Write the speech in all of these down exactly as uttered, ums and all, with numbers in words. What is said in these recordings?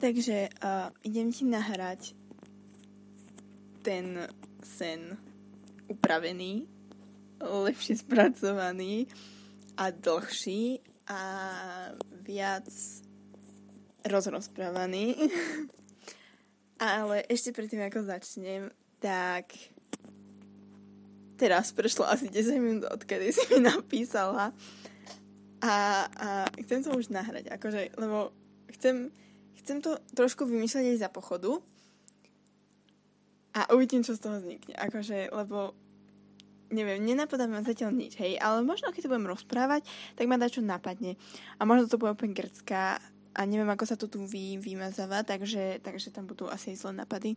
Takže uh, idem ti nahrať ten sen upravený, lepšie spracovaný a dlhší a viac rozrozprávaný. Ale ešte predtým, ako začnem, tak teraz prešlo asi desať minút, odkedy si mi napísala a, a chcem to už nahrať, akože, lebo chcem Chcem to trošku vymýšľať aj za pochodu a uvidím, čo z toho vznikne. Akože, lebo neviem, nenapadá ma zatiaľ nič, hej, ale možno, keď to budem rozprávať, tak ma dá čo napadne. A možno to bude úplne grcká a neviem, ako sa to tu vy, vymazáva, takže, takže tam budú asi aj zlé napady.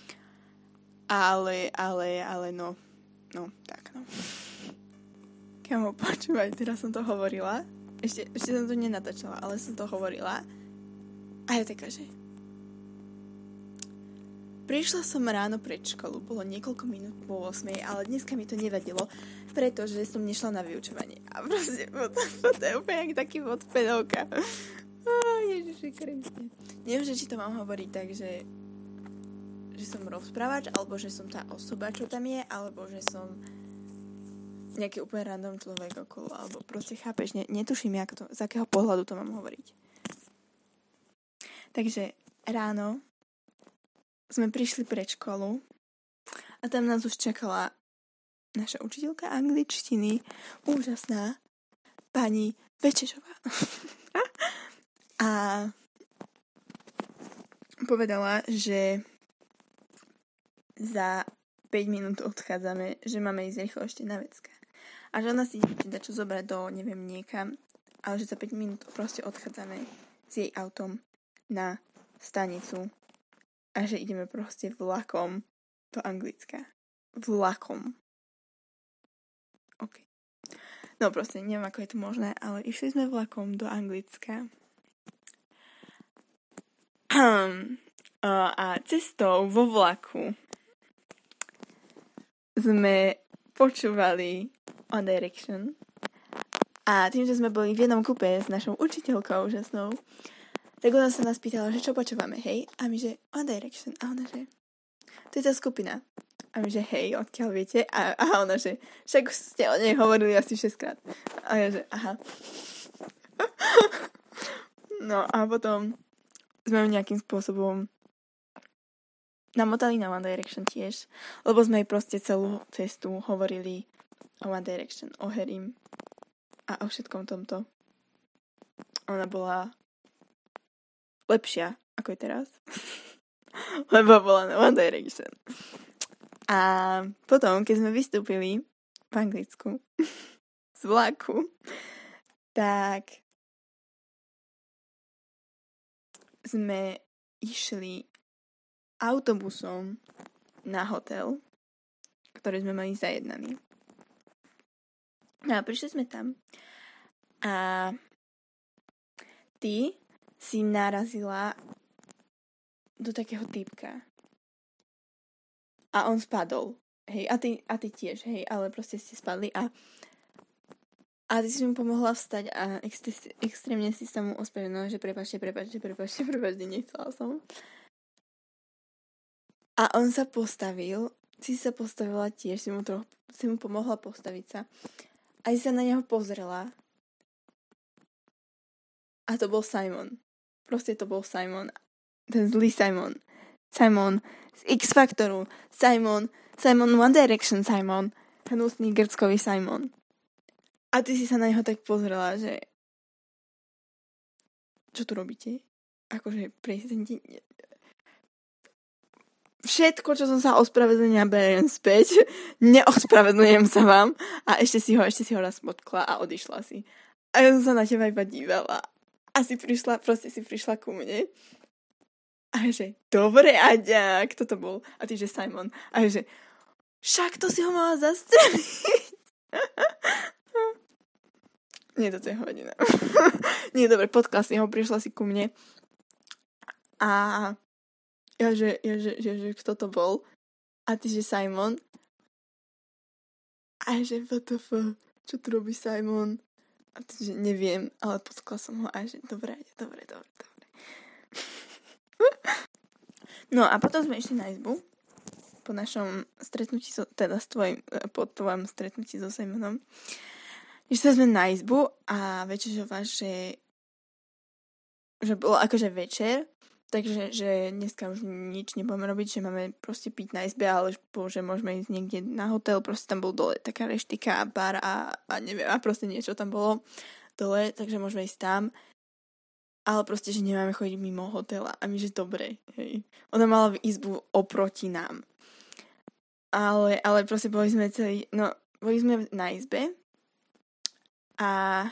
Ale, ale, ale no, no, tak no. Kamo, počúvaj, teraz som to hovorila. Ešte, ešte som to nenatáčala, ale som to hovorila. A ja taká, že prišla som ráno pred školu, bolo niekoľko minút po ôsmej, ale dneska mi to nevadilo, pretože som nešla na vyučovanie. A proste, to je úplne jak taký odpedovka. Ježiši Kriste. Neviem, že či to mám hovoriť tak, že, že som rozprávač, alebo že som tá osoba, čo tam je, alebo že som nejaký úplne random človek okolo, alebo proste chápeš, ne, netuším, jak to, z akého pohľadu to mám hovoriť. Takže ráno sme prišli pred školu a tam nás už čakala naša učiteľka angličtiny, úžasná pani Večešová. A povedala, že za päť minút odchádzame, že máme ísť rýchlo ešte na vecka. A že ona si ide čo zobrať do neviem niekam, ale že za päť minút proste odchádzame s jej autom na stanicu a že ideme proste vlakom do Anglicka. Vlakom. OK. No proste, neviem, ako je to možné, ale išli sme vlakom do Anglicka. A cestou vo vlaku sme počúvali One Direction. A tým, že sme boli v jednom kupe s našou učiteľkou úžasnou, tak ona sa nás pýtala, že čo počúvame, hej? A my, že One Direction. A ona, že to je tá skupina. A my, že hej, odkiaľ viete? A, a ona, že však ste o nej hovorili asi šesťkrát. A ja, že aha. No a potom sme ju nejakým spôsobom namotali na One Direction tiež, lebo sme jej proste celú cestu hovorili o One Direction, o Harrym a o všetkom tomto. Ona bola lepšia, ako je teraz. Lebo bola na One Direction. A potom, keď sme vystúpili v Anglicku z vlaku, tak sme išli autobusom na hotel, ktorý sme mali zajednaný. No a prišli sme tam a ty si narazila do takého typka. A on spadol. Hej, a ty, a ty tiež, hej, ale proste ste spadli a a ty si mu pomohla vstať a ex- extrémne si sa mu ospravedlnila, že prepáčte, prepáčte, prepáčte, prepáčte, nechcela som. A on sa postavil, si sa postavila tiež, si mu, troch, si mu pomohla postaviť sa. A si sa na neho pozrela. A to bol Simon. Proste to bol Simon. Ten zlý Simon. Simon z X-Factoru. Simon. Simon One Direction Simon. Hnusný grckový Simon. A ty si sa na neho tak pozrela, že čo tu robíte? Akože prezidenti... Všetko, čo som sa ospravedlnila, beriem späť. Neospravedlňujem sa vám. A ešte si ho, ešte si ho raz potkla a odišla si. A ja som sa na teba iba dívala. A si prišla, proste si prišla ku mne. A že, dobre, Aďa, kto to bol? A ty, že Simon. A že, však to si ho mala zastreliť. Nie, toto je hodina. Nie, dobre, potkla si ho, prišla si ku mne. A ja, že, ja, že, že, že, kto to bol? A ty, že Simon. A že, what the fuck? Čo tu robí Simon? A ty, že neviem, ale potkla som ho a že dobre, dobre, dobre, dobre. No a potom sme išli na izbu po našom stretnutí, so, teda s tvojim, po tvojom stretnutí so Simonom. Išli sme na izbu a večežová, že že bolo akože večer, takže že dneska už nič nebudeme robiť, že máme proste piť na izbe, ale že môžeme ísť niekde na hotel, proste tam bol dole taká reštika, bar a, a neviem, a proste niečo tam bolo dole, takže môžeme ísť tam. Ale proste, že nemáme chodiť mimo hotela. A my, že dobre, hej. Ona mala v izbu oproti nám. Ale, ale proste boli sme celý, no, boli sme na izbe a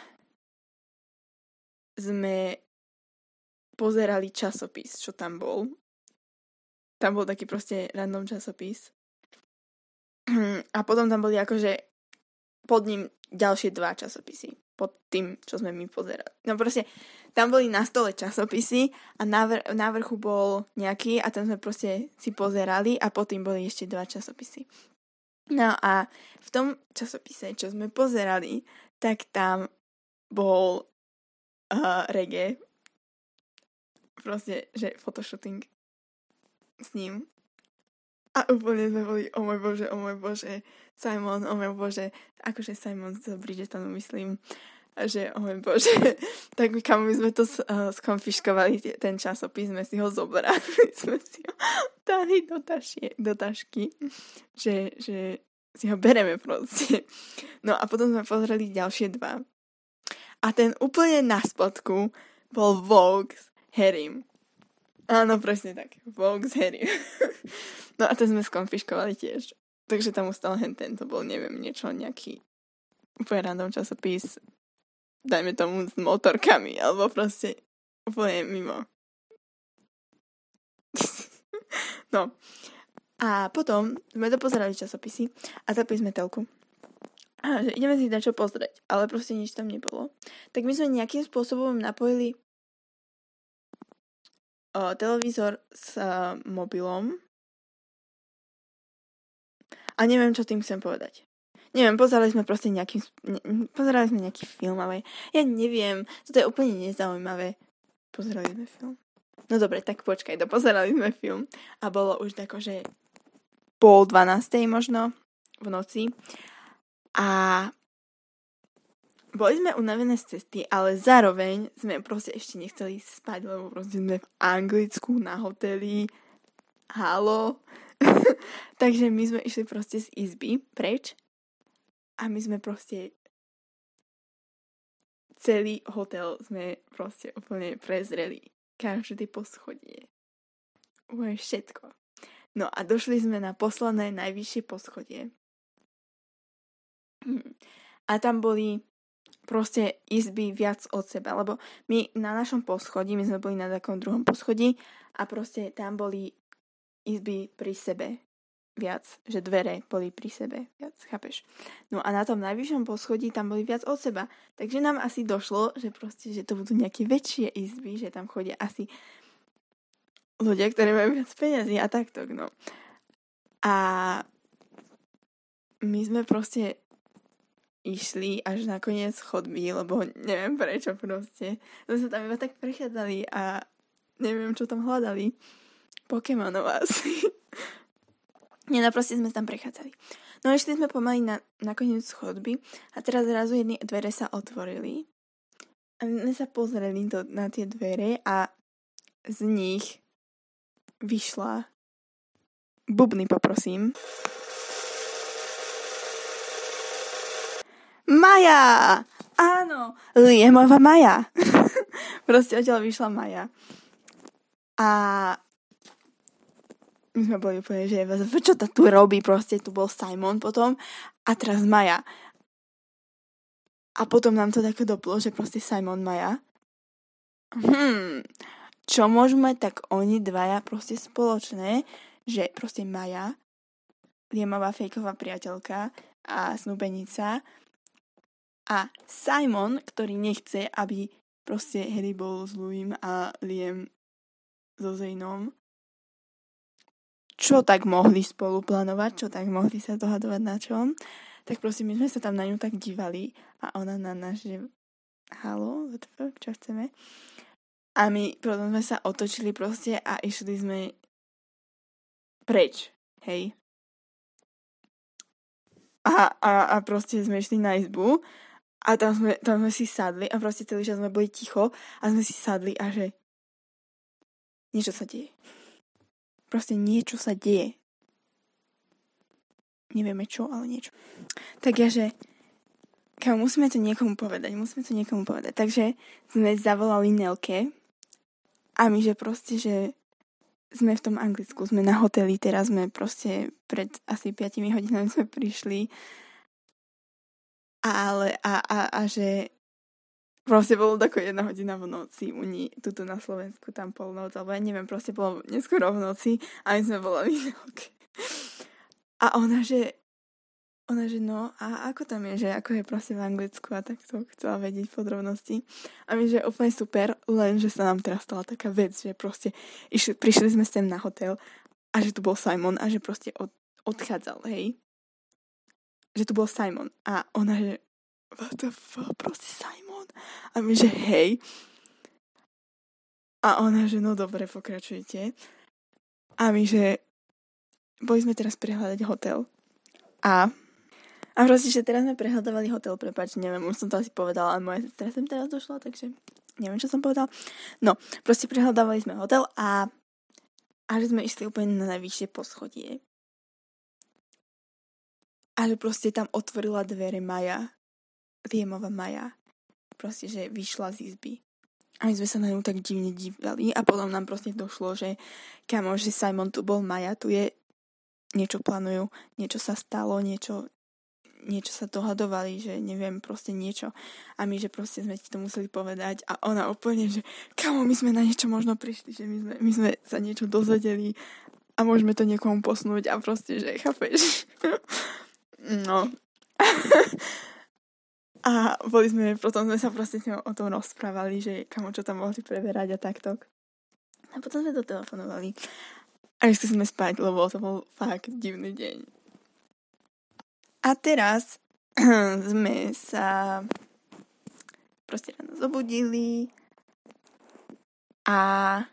sme pozerali časopis, čo tam bol. Tam bol taký proste random časopis. A potom tam boli akože pod ním ďalšie dva časopisy. Pod tým, čo sme my pozerali. No proste, tam boli na stole časopisy a na, vr- na vrchu bol nejaký a tam sme proste si pozerali a pod tým boli ešte dva časopisy. No a v tom časopise, čo sme pozerali, tak tam bol uh, reggae. Proste, že photoshooting s ním. A úplne sme boli, o môj bože, o môj bože, Simon, o môj bože, akože Simon z Bridgetonu myslím, že o môj bože, tak my kam my sme to uh, skonfiškovali, ten časopis, sme si ho zobrali, sme si ho dali do, tašie, do tašky, že, že si ho bereme proste. No a potom sme pozreli ďalšie dva. A ten úplne na spodku bol Vogue s Harrym. Áno, presne tak. Vogue s Harrym. No a to sme skonfiškovali tiež. Takže tam ustal hen ten, to bol, neviem, niečo, nejaký úplne random časopis, dajme tomu s motorkami, alebo proste úplne mimo. No. A potom sme to pozerali časopisy a zapli sme telku. A že ideme si dať čo pozrieť, ale proste nič tam nebolo. Tak my sme nejakým spôsobom napojili o, televízor s uh, mobilom. A neviem, čo tým chcem povedať. Neviem, pozerali sme proste nejaký, ne, pozerali sme nejaký film, ale ja neviem, toto je úplne nezaujímavé. Pozerali sme film. No dobre, tak počkaj, dopozerali sme film a bolo už tako, že pol dvanástej možno v noci a boli sme unavené z cesty, ale zároveň sme proste ešte nechceli spať, lebo proste sme v Anglicku na hoteli. Halo. Takže my sme išli proste z izby preč a my sme proste celý hotel sme proste úplne prezreli. Každé poschodie. Úplne všetko. No a došli sme na posledné najvyššie poschodie. A tam boli proste izby viac od seba, lebo my na našom poschodí, my sme boli na takom druhom poschodí a proste tam boli izby pri sebe viac, že dvere boli pri sebe viac, chápeš? No a na tom najvyššom poschodí tam boli viac od seba, takže nám asi došlo, že proste, že to budú nejaké väčšie izby, že tam chodia asi ľudia, ktorí majú viac peniazy a takto, no. A my sme proste išli až na koniec chodby, lebo neviem prečo proste. My sme tam iba tak prechádzali a neviem, čo tam hľadali. Pokémonov asi. Nie, no proste sme tam prechádzali. No išli sme pomaly na, na koniec chodby a teraz zrazu jedny dvere sa otvorili. A my sa pozreli do, na tie dvere a z nich vyšla bubny, poprosím. Maja! Áno, Liemová Maja. Proste odtiaľ vyšla Maja. A my sme boli úplne, že čo to tu robí, proste tu bol Simon potom a teraz Maja. A potom nám to také doplo, že proste Simon Maja. Hmm, čo môžeme, tak oni dvaja proste spoločné, že proste Maja, Liemová fejková priateľka a snúbenica a Simon, ktorý nechce, aby proste Harry bol s Louim a Liam so Zaneom. Čo tak mohli spolu plánovať, čo tak mohli sa dohadovať na čom, tak prosím, my sme sa tam na ňu tak dívali a ona na nás, že halo, čo chceme? A my potom sme sa otočili proste a išli sme preč, hej. A, a, a proste sme išli na izbu a tam sme, tam sme si sadli a proste celý čas sme boli ticho a sme si sadli a že niečo sa deje. Proste niečo sa deje. Nevieme čo, ale niečo. Tak ja, že kámo, musíme to niekomu povedať, musíme to niekomu povedať. Takže sme zavolali Nelke a my, že proste, že sme v tom Anglicku, sme na hoteli, teraz sme proste pred asi piatimi hodinami sme prišli ale a, a, a že proste bolo tako jedna hodina v noci u ní, tuto na Slovensku, tam polnoc, alebo ja neviem, proste bolo neskoro v noci a my sme volali Nelke. A ona, že ona, že no, a ako tam je, že ako je proste v Anglicku a tak to chcela vedieť podrobnosti. A my, že úplne super, len, že sa nám teraz stala taká vec, že proste išli, prišli sme sem na hotel a že tu bol Simon a že proste od, odchádzal, hej. Že tu bol Simon a ona, že what the fuck, proste Simon. A my, že hej. A ona, že no dobre, pokračujte. A my, že boli sme teraz prehľadať hotel a A proste, že teraz sme prehľadávali hotel, prepáč, neviem, už som to asi povedala, ale moja sestra sem teraz došla, takže neviem, čo som povedala. No, proste prehľadávali sme hotel a, a že sme išli úplne na najvyššie poschodie. A že proste tam otvorila dvere Maja, Liamova Maja. Proste, že vyšla z izby. A my sme sa na ňu tak divne dívali a potom nám proste došlo, že kamo, že Simon tu bol, Maja tu je, niečo plánujú, niečo sa stalo, niečo niečo sa dohadovali, že neviem, proste niečo. A my, že proste sme ti to museli povedať a ona úplne, že kamo, my sme na niečo možno prišli, že my sme, my sme sa niečo dozvedeli a môžeme to niekomu posnúť a proste, že chápeš. No. A boli sme, potom sme sa proste s ňou o tom rozprávali, že kamo, čo tam mohli preberať a takto. A potom sme to telefonovali. A išli sme spať, lebo to bol fakt divný deň. A teraz sme sa proste ráno zobudili a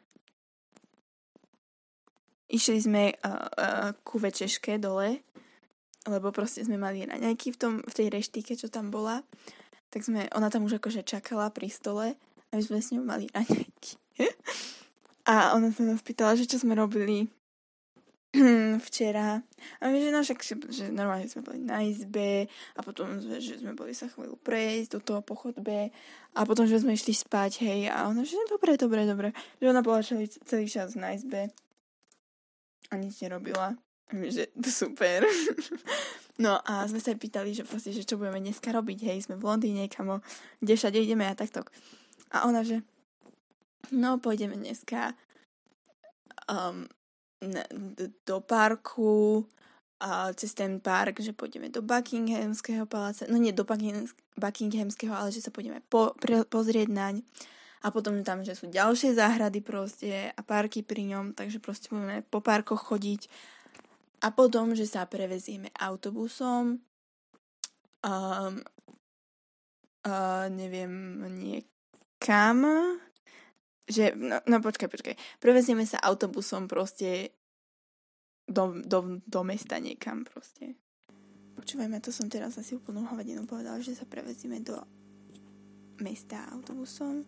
išli sme uh, uh, ku večeške dole, lebo proste sme mali raňajky v, tom, v tej reštike, čo tam bola. Tak sme, ona tam už akože čakala pri stole a my sme s ňou mali raňajky. A ona sa nás pýtala, že čo sme robili včera. A my, že no však, že normálne sme boli na izbe a potom, že sme boli sa chvíľu prejsť do toho po chodbe a potom, že sme išli spať, hej. A ona, že dobre, dobre, dobre. Že ona bola celý, celý čas na izbe a nič nerobila. A my, že super. No a sme sa aj pýtali, že proste, že čo budeme dneska robiť, hej. Sme v Londýne, kamo, kde všade ideme a takto. A ona, že no, pôjdeme dneska um, do parku a cez ten park, že pôjdeme do Buckinghamského paláca, no nie do Buckinghamského, ale že sa pôjdeme po, pre, pozrieť naň a potom tam, že sú ďalšie záhrady proste a parky pri ňom, takže proste budeme po parkoch chodiť a potom, že sa prevezieme autobusom um, uh, neviem, niekam že, no, no počkaj, počkaj. Prevezieme sa autobusom proste do, do, do mesta niekam proste. Počúvajme, to som teraz asi úplnú hovadinu povedala, že sa prevezieme do mesta autobusom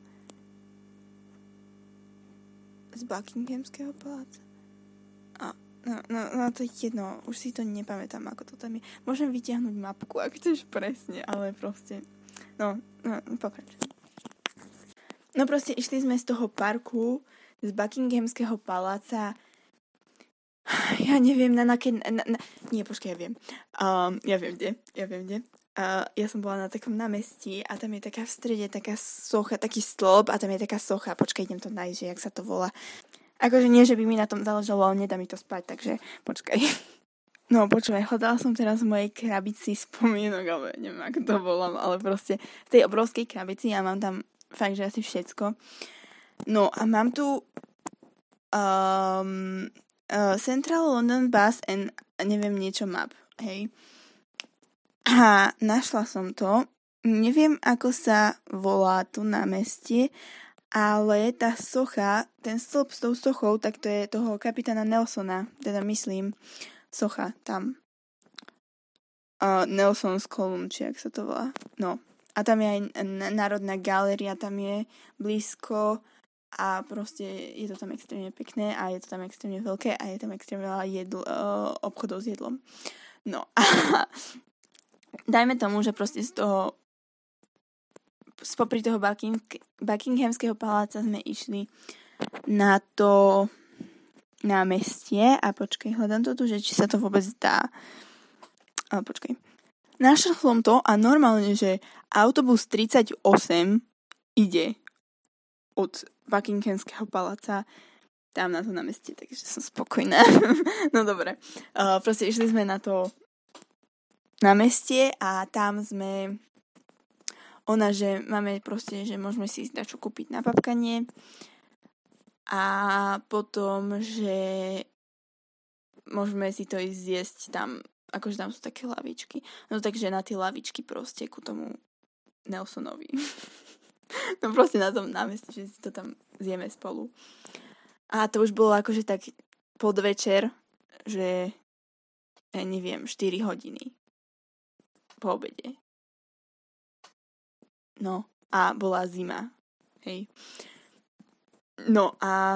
z Buckinghamského paláca. A, no, no, no to je jedno, už si to nepamätám, ako to tam je. Môžem vytiahnuť mapku, ak chceš presne, ale proste, no, no pokračujem. No proste išli sme z toho parku, z Buckinghamského paláca, ja neviem, na na, na, na nie, počkaj, ja viem. Um, ja viem, kde, ja viem, kde. Uh, ja som bola na takom námestí a tam je taká v strede taká socha, taký stĺp a tam je taká socha. Počkaj, idem to nájsť, že jak sa to volá. Akože nie, že by mi na tom záležalo, ale nedá mi to spať, takže počkaj. No počúvaj, hľadala som teraz v mojej krabici spomienok, ale neviem, ako to volám, ale proste v tej obrovskej krabici ja mám tam fakt, že asi všetko. No a mám tu um, uh, Central London Bus and neviem niečo map, hej. A našla som to. Neviem, ako sa volá tu námestie, Ale tá socha, ten stĺp s tou sochou, tak to je toho kapitána Nelsona, teda myslím, socha tam. Uh, Nelson's Column, či jak sa to volá. No. A tam je aj Národná galéria, tam je blízko a proste je to tam extrémne pekné a je to tam extrémne veľké a je tam extrémne veľa jedl, uh, obchodov s jedlom. No a dajme tomu, že proste z toho spopri toho Bucking, Buckinghamského paláca sme išli na to námestie a počkej, hľadám to tu, že či sa to vôbec dá. Ale počkej. Našiel som to a normálne, že autobus tridsaťosem ide od Buckinghamského paláca tam na to námestie, takže som spokojná. No dobre. Uh, proste išli sme na to námestie a tam sme ona, že máme proste, že môžeme si ísť dačo kúpiť na papkanie a potom, že môžeme si to ísť zjesť tam, akože tam sú také lavičky. No takže na tie lavičky proste ku tomu Nelsonovi. No proste na tom námestí, že si to tam zjeme spolu. A to už bolo akože tak podvečer, že ja neviem, štyri hodiny po obede. No, a bola zima. Hej. No a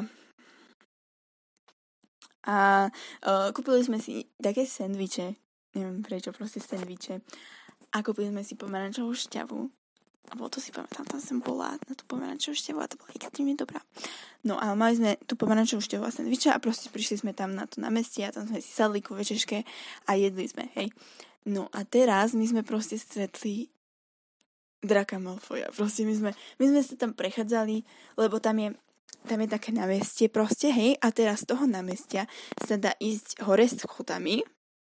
a uh, kúpili sme si také sendviče. Neviem prečo, proste sendviče. A kúpili sme si pomerančovú šťavu. A bolo to si pamätám, tam som bola na tú pomerančovú šťavu a to bola extrémne dobrá. No a mali sme tú pomerančovú šťavu a sendviče a proste prišli sme tam na to námestie a tam sme si sadli ku večeške a jedli sme, hej. No a teraz my sme proste stretli Draka Malfoja. Proste my sme, my sme sa tam prechádzali, lebo tam je, tam je také námestie proste, hej, a teraz z toho námestia sa dá ísť hore schodami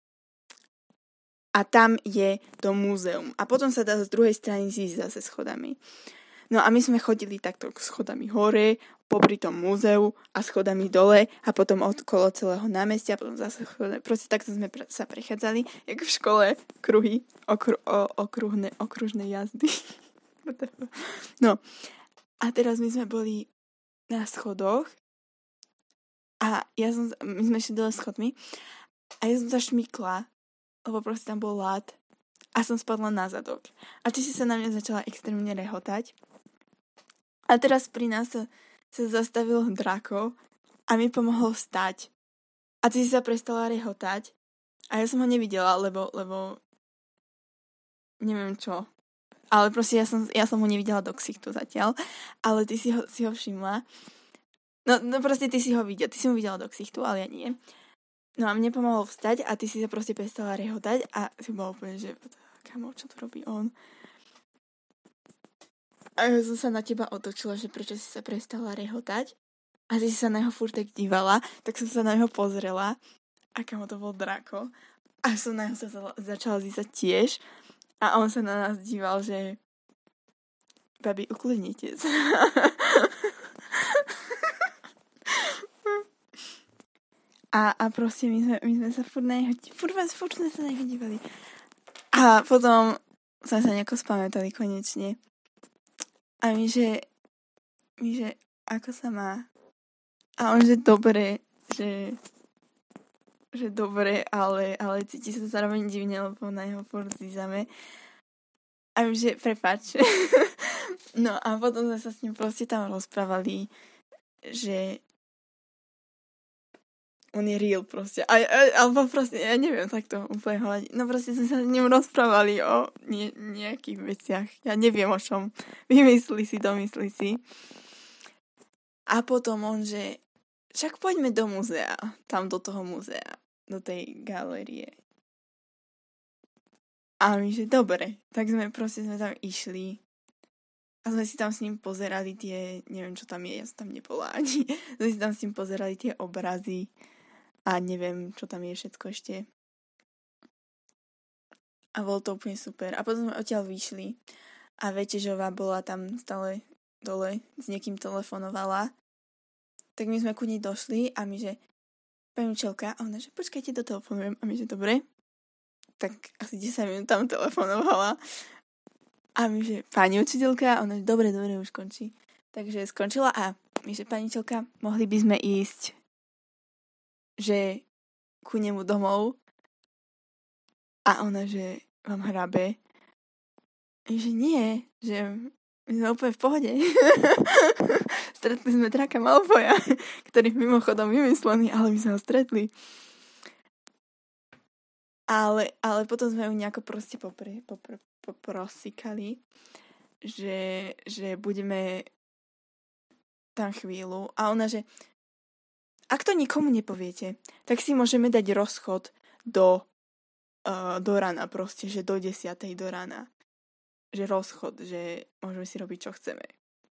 a tam je to múzeum. A potom sa dá z druhej strany ísť zase schodami. No a my sme chodili takto schodami hore, popri tom múzeu a schodami dole a potom okolo celého námestia a potom zase schodami. Proste takto sme pre, sa prechádzali, jak v škole, kruhy, okru, o, okruhné, okružné jazdy. No a teraz my sme boli na schodoch a ja som, my sme šli dole schodmi a ja som sa šmykla, lebo proste tam bol lád a som spadla na zadok. A ty si sa na mňa začala extrémne rehotať. A teraz pri nás sa, sa zastavil Draco a mi pomohol vstať. A ty si sa prestala rehotať a ja som ho nevidela, lebo, lebo neviem čo. Ale proste ja som, ja som ho nevidela do ksichtu zatiaľ, ale ty si ho, si ho všimla. No, no proste ty si ho videla, ty si ho videla do ksichtu, ale ja nie. No a mne pomohol vstať a ty si sa proste prestala rehotať a si bola úplne, že kamo, čo tu robí on? A ja som sa na teba otočila, že prečo si sa prestala rehotať a ty si sa na jeho furt tak dívala, tak som sa na neho pozrela a kamo to bol Draco a som na neho sa začala zísať tiež a on sa na nás díval, že babi, uklidnite sa. A, a proste my sme, my sme sa furt na neho furt, furt sme sa na neho dívali. A potom sme sa nejako spamätali konečne. A my, že my, že ako sa má? A on, že dobre, že že dobre, ale, ale cíti sa zároveň divne, lebo na jeho furt zízame. A my, že prepáč. No a potom sme sa s ním proste tam rozprávali, že on je real proste. A, a, alebo proste, ja neviem, tak to úplne hľadiť. No proste sme sa s ním rozprávali o nie, nejakých veciach. Ja neviem o čom. Vymyslí si, domyslí si. A potom on, že však poďme do múzea. Tam do toho múzea. Do tej galérie. A my, že dobre. Tak sme proste sme tam išli. A sme si tam s ním pozerali tie, neviem čo tam je, ja som tam nebola ani. Sme si tam s ním pozerali tie obrazy. A neviem, čo tam je všetko ešte. A bolo to úplne super. A potom sme odtiaľ vyšli. A Večežová bola tam stále dole. S niekým telefonovala. Tak my sme ku nej došli a my, že pani učiteľka, a ona, že počkajte, dotelefonujem. A my, že dobre. Tak asi desať minút tam telefonovala. A my, že pani učiteľka, a ona, že dobre, dobre, už končí. Takže skončila a my, že paniteľka, mohli by sme ísť, že ku nemu domov. A ona, že vám hrabe. Že nie, že my sme úplne v pohode. Stretli sme Draka Malfoja, ktorý mimochodom vymyslený, ale my sme ho stretli. Ale, ale potom sme ju nejako proste popre, popre, poprosikali, že, že budeme tam chvíľu. A ona, že ak to nikomu nepoviete, tak si môžeme dať rozchod do, uh, do rana proste, že do desiatej do rana. Že rozchod, že môžeme si robiť, čo chceme.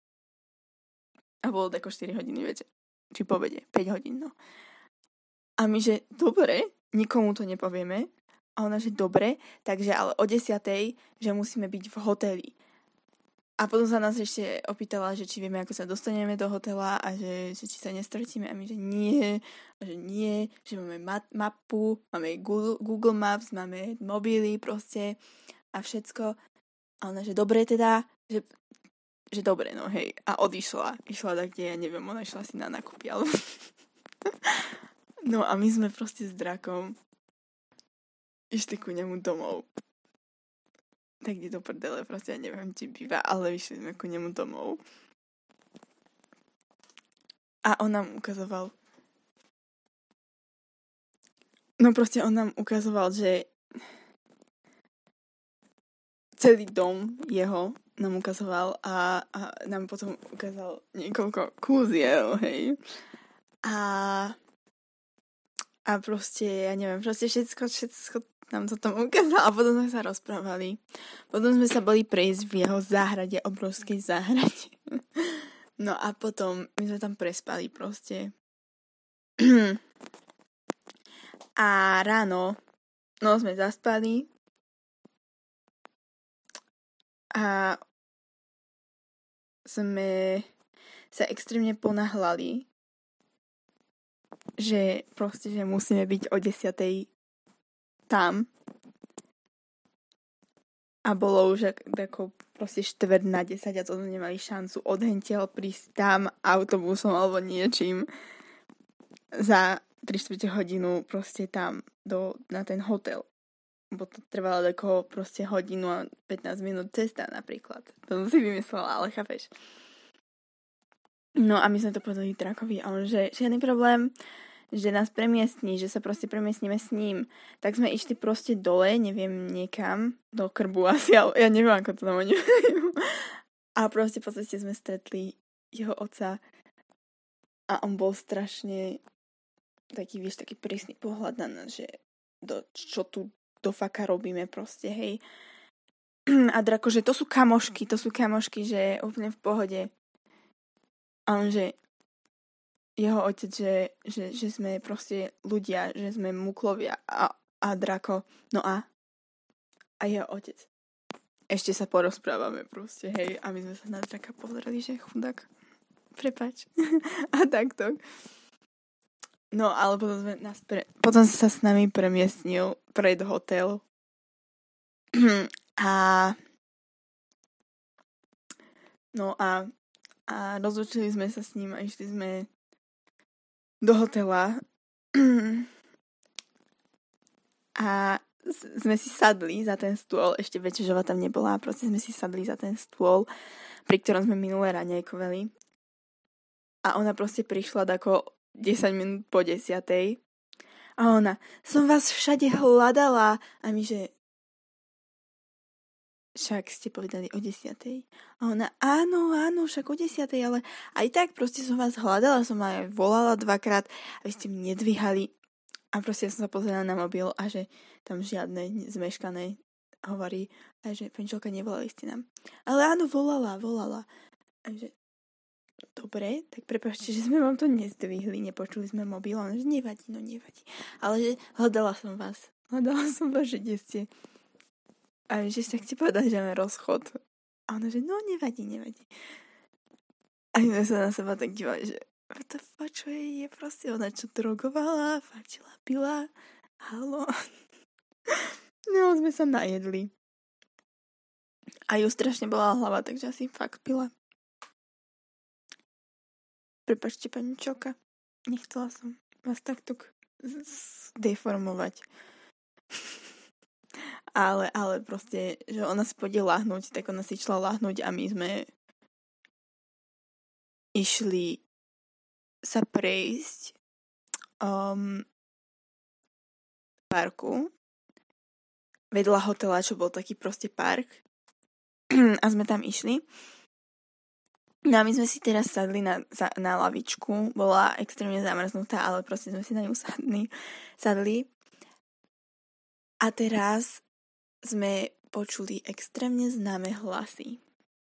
A bolo tako štyri hodiny, viete. Či po obede, päť hodín, no. A my, že dobre, nikomu to nepovieme. A ona, že dobre, takže ale o desiatej, že musíme byť v hoteli. A potom sa nás ešte opýtala, že či vieme, ako sa dostaneme do hotela a že, že či sa nestratíme. A my, že nie, a že nie, že máme ma- mapu, máme Google, Google Maps, máme mobily proste a všetko. A ona, že dobre teda, že, že dobre, no hej. A odišla. Išla tak, kde ja neviem, ona išla si na nákupy, ale... No a my sme proste s Drakom išli ku nemu domov. Tak kde do prdele, proste ja neviem, či býva, ale vyšli sme ku nemu domov. A on nám ukazoval... No proste on nám ukazoval, že celý dom jeho nám ukazoval a, a nám potom ukázal niekoľko kúziel, hej. A, a proste, ja neviem, proste všetko, všetko nám to tam ukázal a potom sme sa rozprávali. Potom sme sa boli prejsť v jeho záhrade, obrovskej záhrade. No a potom my sme tam prespali proste. A ráno, no sme zaspali, a sme sa extrémne ponáhľali, že proste, že musíme byť o desiatej tam. A bolo už ako proste štvrť na desať a to sme nemali šancu odhentiaľ prísť tam autobusom alebo niečím za tri štvrte hodinu proste tam do, na ten hotel. Bo to trvalo tako proste hodinu a pätnásť minút cesta napríklad. To som si vymyslela, ale chápeš. No a my sme to povedali Drakovi a on, že žiadny problém, že nás premiestní, že sa proste premiestníme s ním. Tak sme išli proste dole, neviem, niekam, do Krbu asi, ale ja neviem, ako to tam oni A proste po ceste sme stretli jeho otca a on bol strašne taký, vieš, taký prísny pohľad na nás, že do, čo tu do faka robíme proste, hej. A Drako, že to sú kamošky, to sú kamošky, že úplne v pohode. A on, že jeho otec, že, že, že sme proste ľudia, že sme muklovia a, a Drako, no a a jeho otec. Ešte sa porozprávame proste, hej. A my sme sa na Draka pozerali, že chudák, prepač. A takto. No, ale potom, sme nás pre... potom sa s nami premiestnil pred hotel. A no a, a rozlučili sme sa s ním a išli sme do hotela. A sme si sadli za ten stôl, ešte Večežova tam nebola, proste sme si sadli za ten stôl, pri ktorom sme minulé raňajkovali. A ona proste prišla ako desať minút po desiatej. A ona, som vás všade hľadala. A my, že však ste povedali o desiatej. A ona, áno, áno, však o desiatej, ale aj tak proste som vás hľadala, som aj volala dvakrát a vy ste mi nedvíhali. A proste som sa pozerala na mobil a že tam žiadne zmeškané hovorí. A že, Penčelka, nevolali ste nám. Ale áno, volala, volala. A že dobre, tak prepáčte, že sme vám to nezdvihli, nepočuli sme mobil, ale že nevadí, no nevadí. Ale že hľadala som vás. Hľadala som vás, že kde ste. A že sa chcete povedať, že máme rozchod. A ona, že no nevadí, nevadí. A my sme sa na seba tak dívali, že what the fuck, čo je, je proste ona, čo drogovala, fajčila, pila. Halo. No, sme sa najedli. A ju strašne bola hlava, takže asi fakt pila. Prepáčte, pani Čoka. Nechcela som vás takto k- z- z- deformovať. ale, ale proste, že ona si pôjde lahnúť, tak ona si išla lahnúť a my sme išli sa prejsť um, parku vedľa hotela, čo bol taký proste park. A sme tam išli. No a my sme si teraz sadli na, za, na lavičku. Bola extrémne zamrznutá, ale proste sme si na ňu sadli. sadli. A teraz sme počuli extrémne známe hlasy.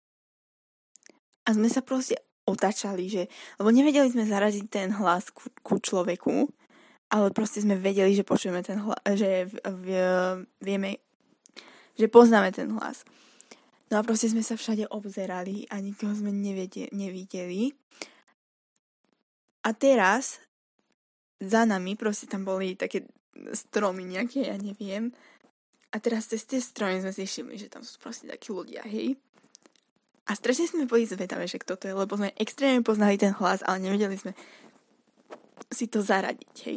A sme sa proste otačali, že... Lebo nevedeli sme zaradiť ten hlas ku, ku človeku, ale proste sme vedeli, že počujeme ten hlas, že v, v, vieme, že poznáme ten hlas. No a proste sme sa všade obzerali a nikoho sme nevedie, nevideli. A teraz za nami, proste tam boli také stromy nejaké, ja neviem. A teraz cez tie stromy sme si všimli, že tam sú proste takí ľudia, hej. A strašne sme boli zvedavé, že kto to je, lebo sme extrémne poznali ten hlas, ale nevedeli sme si to zaradiť, hej.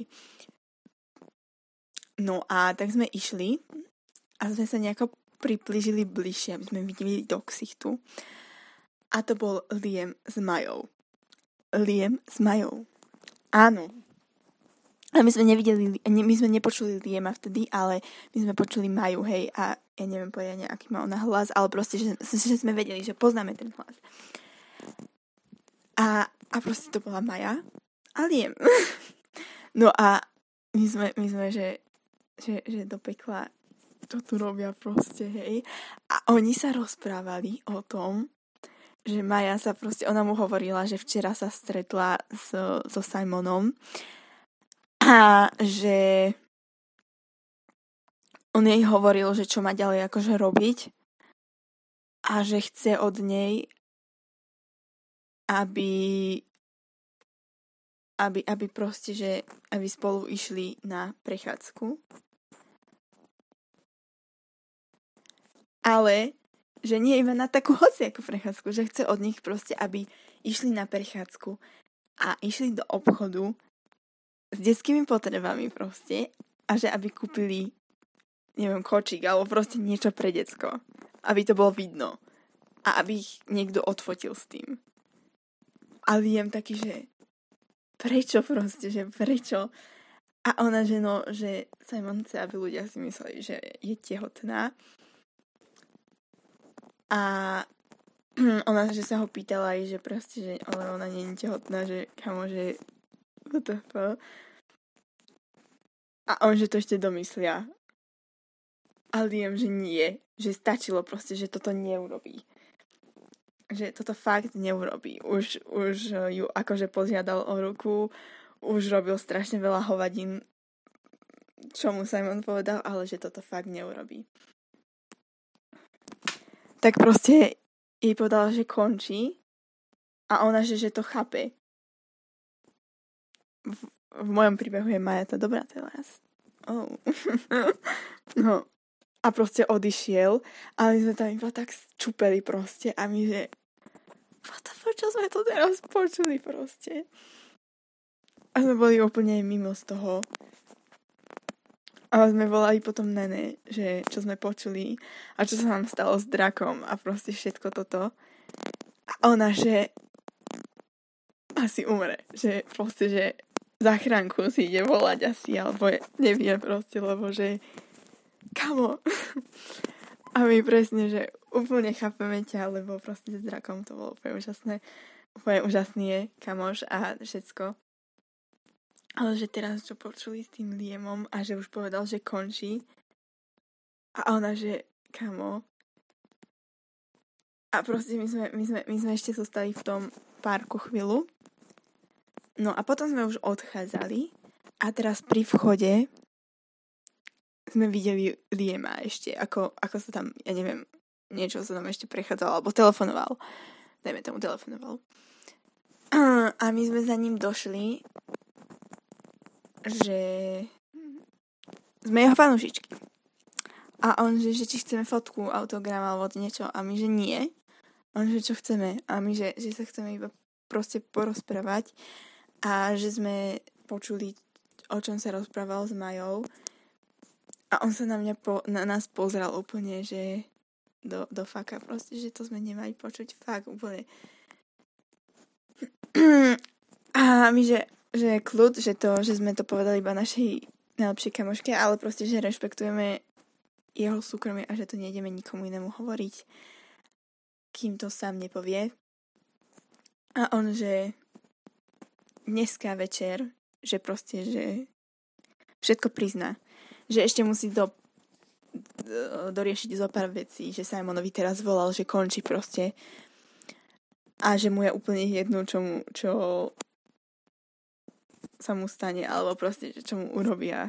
No a tak sme išli a sme sa nejako priblížili bližšie, aby sme videli do ksichtu. A to bol Liam s Majou. Liam s Majou. Áno. A my sme nevideli, my sme nepočuli Liama vtedy, ale my sme počuli Maju, hej, a ja neviem povedať, aký má ona hlas, ale proste, že, že sme vedeli, že poznáme ten hlas. A, a proste to bola Maja a Liam. No a my sme, my sme že, že, že do pekla čo tu robia proste, hej. A oni sa rozprávali o tom, že Maja sa proste, ona mu hovorila, že včera sa stretla so, so Simonom a že on jej hovoril, že čo má ďalej akože robiť a že chce od nej, aby aby, aby proste, že aby spolu išli na prechádzku. Ale, že nie iba na takú hociakú prechádzku, že chce od nich proste, aby išli na prechádzku a išli do obchodu s detskými potrebami proste a že aby kúpili, neviem, kočík alebo proste niečo pre decko. Aby to bolo vidno. A aby ich niekto odfotil s tým. A Liam taký, že prečo proste, že prečo? A ona, že no, že Simon chce, aby ľudia si mysleli, že je tehotná. A ona, že sa ho pýtala aj, že proste, že ale ona nie je tehotná, že kamo, že what the fuck. A on, že to ešte domyslia. A Liam, že nie. Že stačilo proste, že toto neurobí. Že toto fakt neurobí. Už, už ju akože požiadal o ruku, už robil strašne veľa hovadín, čo mu Simon povedal, ale že toto fakt neurobí. Tak proste jej povedala, že končí a ona, že, že to chápe. V, v mojom príbehu je Maja tá dobrá teraz. Oh. No. A proste odišiel a my sme tam iba tak čupeli proste a my, že what the fuck, čo sme to teraz počuli proste. A sme boli úplne mimo z toho. A sme volali potom Nene, že čo sme počuli a čo sa nám stalo s drakom a proste všetko toto. A ona, že asi umre. Že proste, že záchranku si ide volať asi, alebo je, nevie proste, lebo že kamo. A my presne, že úplne chápeme ťa, lebo proste s drakom to bolo úplne úžasné. Úplne úžasný je kamoš a všetko. Ale že teraz, čo počuli s tým Liamom a že už povedal, že končí. A ona, že kamo. A proste my sme, my sme, my sme ešte zostali v tom parku chvíľu. No a potom sme už odchádzali. A teraz pri vchode sme videli Liama ešte. Ako, ako sa tam, ja neviem, niečo sa tam ešte prechádzalo. Alebo telefonoval. Dajme tomu telefonoval. A my sme za ním došli, že sme jeho fanúšičky. A on, že, že či chceme fotku, autogram alebo niečo. A my, že nie. On, že čo chceme. A my, že, že sa chceme iba proste porozprávať a že sme počuli, o čom sa rozprával s Majou a on sa na mňa po, na nás pozrel úplne, že do, do faka proste, že to sme nemali počuť fakt úplne. A my, že, že kľud, že to, že sme to povedali iba našej najlepšej kamoške, ale proste, že rešpektujeme jeho súkromie a že to nejdeme nikomu inému hovoriť, kým to sám nepovie. A on, že dneska večer, že proste, že všetko prizná. Že ešte musí do, do, doriešiť zo pár vecí, že Simonovi teraz volal, že končí proste. A že mu je úplne jedno, čo, mu, čo sa mu stane, alebo proste, čo mu urobia.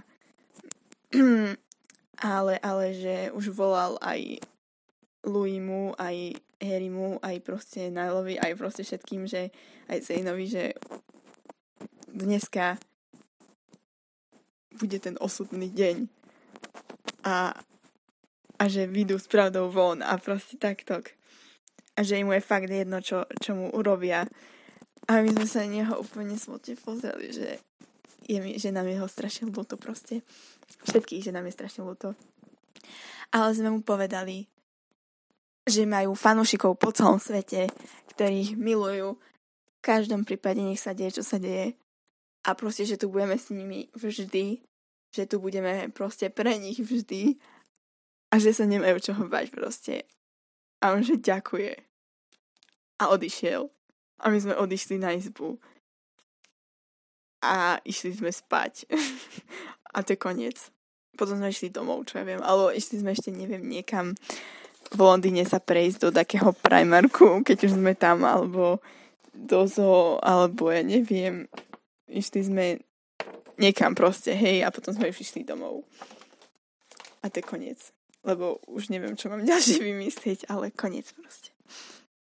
ale, ale že už volal aj Louimu, aj Harrymu, aj proste Nileovi, aj proste všetkým, že aj Zaneovi, že dneska bude ten osudný deň. A, a že vyjdú s pravdou von a proste takto. A že im je fakt jedno, čo, čo mu urobia. A my sme sa na neho úplne smutne pozreli, že, je mi, že nám je ho strašne ľúto proste. Všetkých, že nám je strašne ľúto. Ale sme mu povedali, že majú fanúšikov po celom svete, ktorých milujú. V každom prípade nech sa deje, čo sa deje. A proste, že tu budeme s nimi vždy. Že tu budeme proste pre nich vždy. A že sa nemajú čoho bať proste. A on, že ďakuje. A odišiel. A my sme odišli na izbu. A išli sme spať. A to je koniec. Potom sme išli domov, čo ja viem. Alebo išli sme ešte, neviem, niekam v Londýne sa prejsť do takého Primarku, keď už sme tam, alebo do zoo, alebo ja neviem. Išli sme niekam proste, hej, a potom sme už išli domov. A to je koniec. Lebo už neviem, čo mám ďalšie vymyslieť, ale koniec proste.